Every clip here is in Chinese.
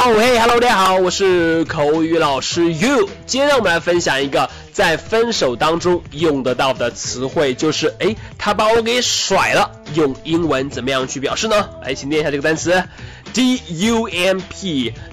Hello， 大家好，我是口语老师 You。今天让我们来分享一个在分手当中用得到的词汇，就是他把我给甩了。用英文怎么样去表示呢？来，请念一下这个单词 D-U-M-P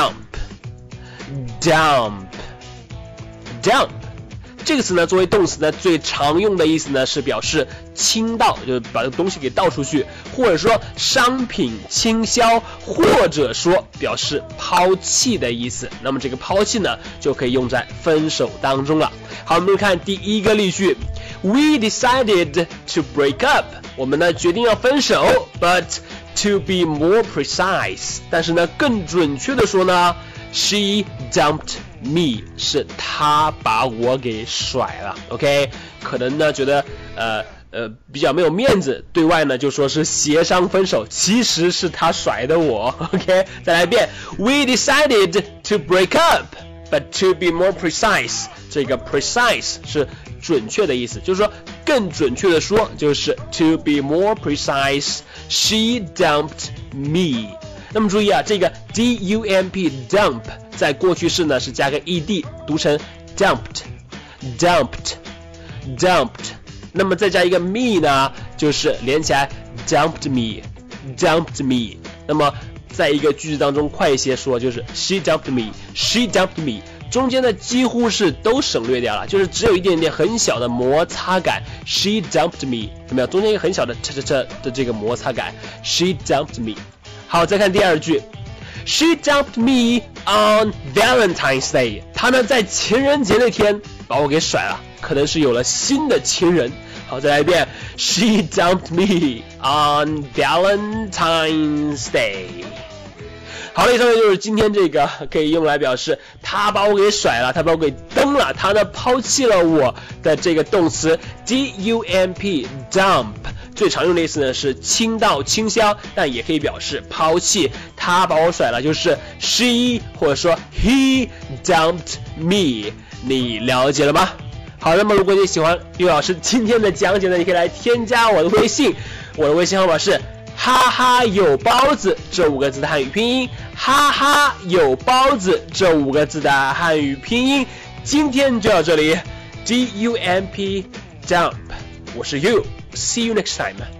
dump。这个词呢，作为动词呢，最常用的意思呢是表示倾倒，就是把这个东西给倒出去，或者说商品倾销，或者说表示抛弃的意思。那么这个抛弃呢，就可以用在分手当中了。好，我们看第一个例句 ：We decided to break up。我们呢决定要分手 ，but to be more precise， 但是呢更准确的说呢 ，She dumped me， 是他把我给甩了 ，OK， 可能呢觉得比较没有面子，对外呢就说是协商分手，其实是他甩的我 ，OK， 再来一遍 ，We decided to break up, but to be more precise， 这个 precise 是准确的意思，就是说更准确的说就是 to be more precise, she dumped me。那么注意啊，这个 D-U-M-P dump 在过去式呢是加个 ed， 读成 dumped。那么再加一个 me 呢，就是连起来 dumped me。那么在一个句子当中快一些说，就是 she dumped me， 中间的几乎是都省略掉了，就是只有一点点很小的摩擦感 ，she dumped me， 有没有？中间一个很小的的这个摩擦感 ，she dumped me。好，再看第二句 ，She dumped me on Valentine's Day。她呢在情人节那天把我给甩了，可能是有了新的情人。好，再来一遍 ，She dumped me on Valentine's Day。好了，以上就是今天这个可以用来表示他把我给甩了，他把我给蹬了，他呢抛弃了我的这个动词 dump dump。最常用的意思呢是倾倒倾销，但也可以表示抛弃，他把我甩了，就是 she 或者说 he dumped me， 你了解了吗？好，那么如果你喜欢岳老师今天的讲解呢，你可以来添加我的微信，我的微信号码是哈哈有包子这5个字的汉语拼音，哈哈有包子这5个字的汉语拼音。今天就到这里 ，D-U-M-P dump， 我是 You。See you next time.